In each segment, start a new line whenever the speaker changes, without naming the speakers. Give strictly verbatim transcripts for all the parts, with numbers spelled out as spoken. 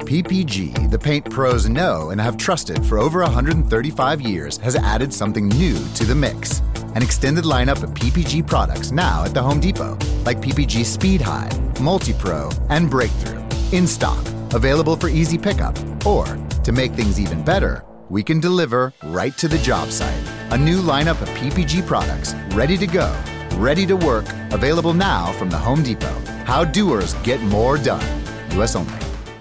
P P G, the paint pros know and have trusted for over one hundred thirty-five years, has added something new to the mix. An extended lineup of P P G products now at the Home Depot, like P P G Speed High, Multi-Pro, and Breakthrough. In stock, available for easy pickup, or, to make things even better, we can deliver right to the job site. A new lineup of P P G products, ready to go, ready to work, available now from the Home Depot. How doers get more done. U S only.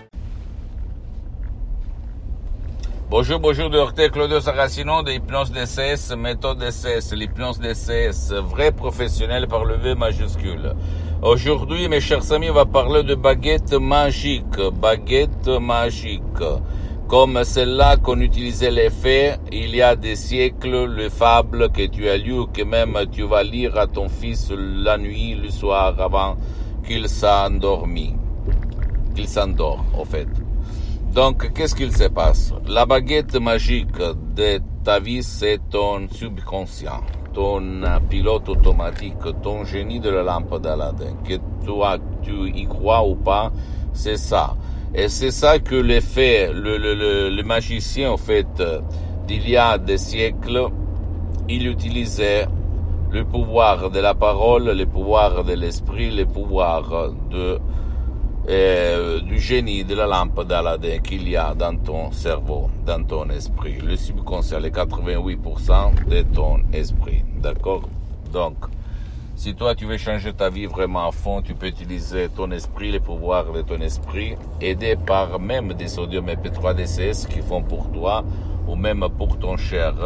Bonjour, bonjour, docteur Claudio Saracino de Hypnose D C S, méthode D C S, l'hypnose D C S, vrai professionnel par le V majuscule. Aujourd'hui, mes chers amis, on va parler de baguette magique, baguette magique. Comme celle-là qu'on utilisait les faits il y a des siècles, les fables que tu as lues, que même tu vas lire à ton fils la nuit, le soir, avant qu'il s'endormit, qu'il s'endort, au fait. Donc, qu'est-ce qu'il se passe? La baguette magique de ta vie, c'est ton subconscient, ton pilote automatique, ton génie de la lampe d'Aladin. Que toi, tu y crois ou pas, c'est ça. Et c'est ça que le fait, le, le, le, le magicien, en fait, d'il y a des siècles, il utilisait le pouvoir de la parole, le pouvoir de l'esprit, le pouvoir de Euh, du génie de la lampe d'Aladin qu'il y a dans ton cerveau, dans ton esprit. Le subconscient, les quatre-vingt-huit pour cent de ton esprit. D'accord? Donc, si toi tu veux changer ta vie vraiment à fond, tu peux utiliser ton esprit, les pouvoirs de ton esprit, aidé par même des sodium M P trois D C S qui font pour toi, ou même pour ton cher,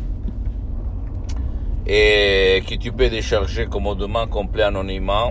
et que tu peux décharger commodément, complet anonymement,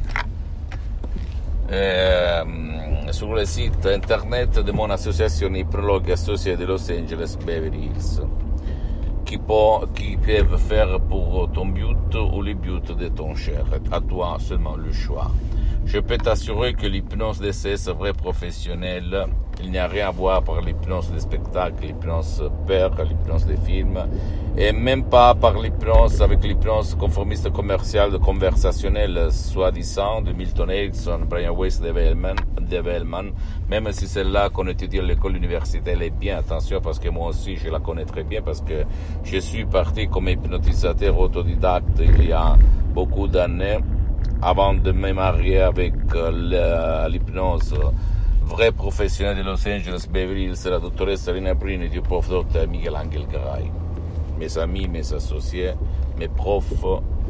Eh, sur le site internet de mon association Hypnologue associée de Los Angeles Beverly Hills, qui, peut, qui peuvent faire pour ton but ou le but de ton cher. À toi seulement le choix. Je peux t'assurer que l'hypnose D C S vrai professionnel, il n'y a rien à voir par l'hypnose des spectacles, l'hypnose peur, l'hypnose des films, et même pas par l'hypnose avec l'hypnose conformiste commerciale conversationnelle, soi-disant, de Milton Erickson, Brian Weiss, Dave Hellman, Dave Hellman, même si celle-là qu'on étudie à l'école universitaire, elle est bien, attention, parce que moi aussi je la connais très bien, parce que je suis parti comme hypnotisateur autodidacte il y a beaucoup d'années, avant de me marier avec euh, l'hypnose vrai professionnel de Los Angeles Beverly Hills, la dottoressa Rina Brini du prof docteur Miguel Angel Garay. Mes amis, mes associés, mes profs,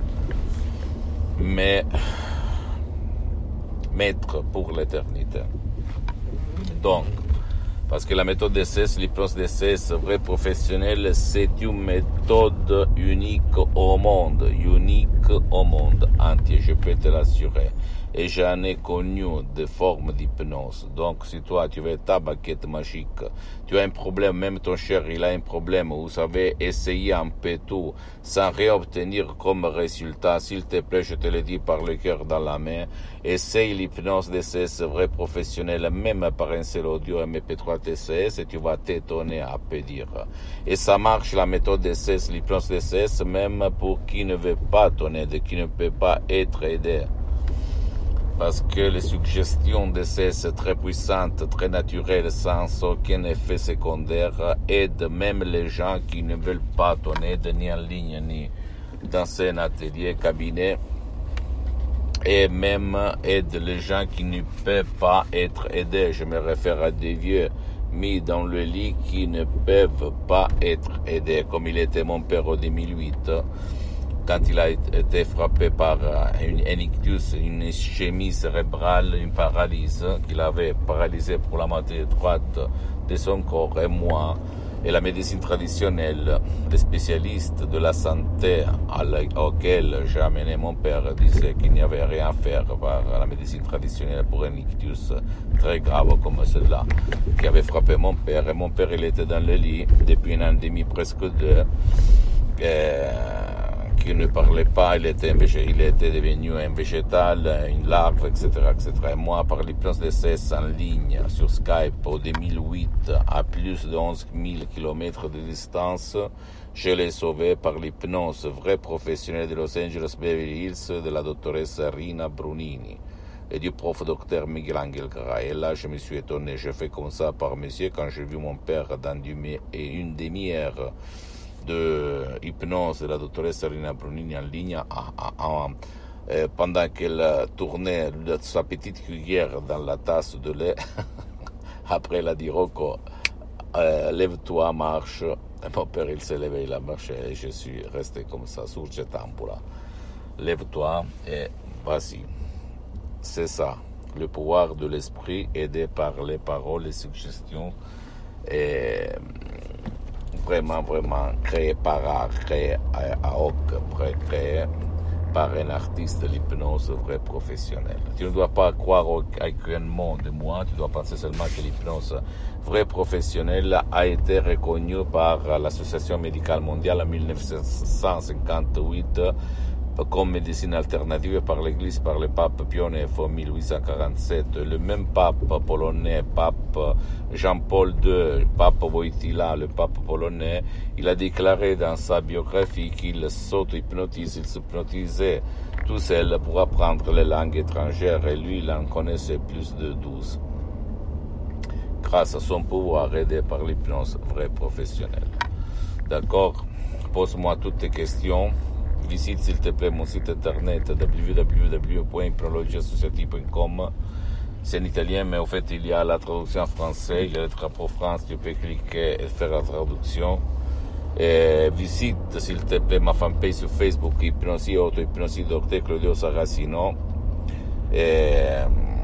mes maîtres pour l'éternité. Donc, parce que la méthode D C S, l'hypnose D C S vrai professionnel, c'est une méthode unique au monde, unique au monde entier, je peux te l'assurer. Et j'en ai connu des formes d'hypnose. Donc, si toi, tu veux ta baguette magique, tu as un problème, même ton cher, il a un problème, vous savez, essayer un peu tout, sans rien obtenir comme résultat, s'il te plaît, je te le dis par le cœur dans la main, essaye l'hypnose D C S vrai professionnel, même par un seul audio M P trois D C S, et tu vas t'étonner à peu dire. Et ça marche, la méthode D C S, l'hypnose D C S, même pour qui ne veut pas ton aide, qui ne peut pas être aidé. Parce que les suggestions D C S très puissantes, très naturelles, sans aucun effet secondaire, aident même les gens qui ne veulent pas ton aide, ni en ligne, ni dans un atelier, cabinet, et même aident les gens qui ne peuvent pas être aidés. Je me réfère à des vieux mis dans le lit qui ne peuvent pas être aidés, comme il était mon père en deux mille huit. Quand il a été frappé par une ictus, une ischémie cérébrale, une paralysie, qu'il avait paralysé pour la moitié droite de son corps, et moi, et la médecine traditionnelle, les spécialistes de la santé auxquels j'ai amené mon père disaient qu'il n'y avait rien à faire par la médecine traditionnelle pour un ictus très grave comme celui-là, qui avait frappé mon père, et mon père, il était dans le lit depuis un an et demi, presque deux, et qui ne parlait pas, il était, il était devenu un végétal, une larve, et cetera, et cetera. Et moi, par l'hypnose D C S en ligne, sur Skype, en deux mille huit, à plus de onze mille kilomètres de distance, je l'ai sauvé par l'hypnose vraie professionnelle de Los Angeles Beverly Hills de la dottoressa Rina Brunini. et du prof docteur Miguel Angel Gray. Et là, je me suis étonné. Je fais comme ça par monsieur quand j'ai vu mon père dans une demi-heure de hypnose de la doctoresse Rina Brunini en ligne, à, à, à, euh, pendant qu'elle tournait sa petite cuillère dans la tasse de lait. Après, elle a dit, Rocco, euh, lève-toi, marche. Et mon père, il s'est levé, il a marché, et je suis resté comme ça, sur cette tambour. Lève-toi et vas-y. C'est ça, le pouvoir de l'esprit aidé par les paroles, les suggestions, et vraiment, vraiment créé par art, créé à hoc, créé par un artiste de l'hypnose vrai professionnel. Tu ne dois pas croire à aucun mot de moi, tu dois penser seulement que l'hypnose vrai professionnelle a été reconnue par l'Association médicale mondiale en dix-neuf cent cinquante-huit comme médecine alternative par l'Église, par le pape Pie neuf en dix-huit cent quarante-sept. Le même pape polonais, pape Jean-Paul deux, pape Wojtyla, le pape polonais, il a déclaré dans sa biographie qu'il s'auto-hypnotise, il s'hypnotisait tout seul pour apprendre les langues étrangères, et lui, il en connaissait plus de douze. Grâce à son pouvoir aidé par l'hypnose vraie professionnelle. D'accord? Pose-moi toutes tes questions. Visite s'il te plaît mon site internet w w w point hypnologie associative point com. C'est en italien, mais en fait il y a la traduction en français, il y a le drapeau France, tu peux cliquer et faire la traduction. Et visite s'il te plaît ma fanpage sur Facebook, Hypnosie Auto, Hypnosie Docteur Claudio Saracino. Et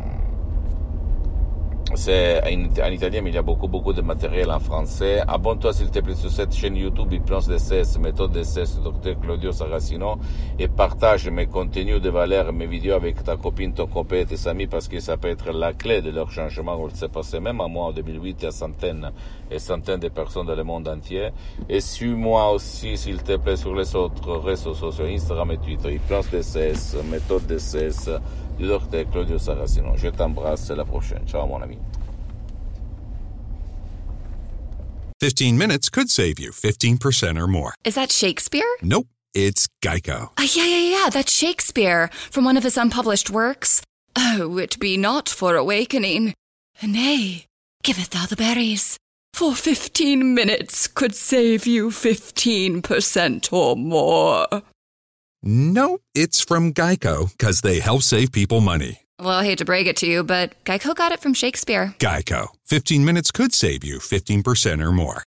c'est en, en italien, mais il y a beaucoup, beaucoup de matériel en français. Abonne-toi s'il te plaît sur cette chaîne YouTube Hypnose D C S, méthode D C S, docteur Claudio Saracino, et partage mes contenus de valeur, mes vidéos avec ta copine, ton copain et tes amis, parce que ça peut être la clé de leur changement. On le sait passé même à moi en deux mille huit, il y a centaines et centaines de personnes dans le monde entier. Et suis-moi aussi s'il te plaît sur les autres réseaux sociaux, Instagram et Twitter, Hypnose D C S, méthode D C S, du docteur Claudio Saracino. Je t'embrasse, à la prochaine. Ciao mon ami.
fifteen minutes could save you fifteen percent or more.
Is that Shakespeare?
Nope, it's Geico.
Uh, yeah, yeah, yeah, that's Shakespeare from one of his unpublished works. Oh, it be not for awakening. Nay, giveth thou the berries. For fifteen minutes could save you fifteen percent or more.
No, it's from Geico, because they help save people money.
Well, I hate to break it to you, but Geico got it from Shakespeare.
Geico. fifteen minutes could save you fifteen percent or more.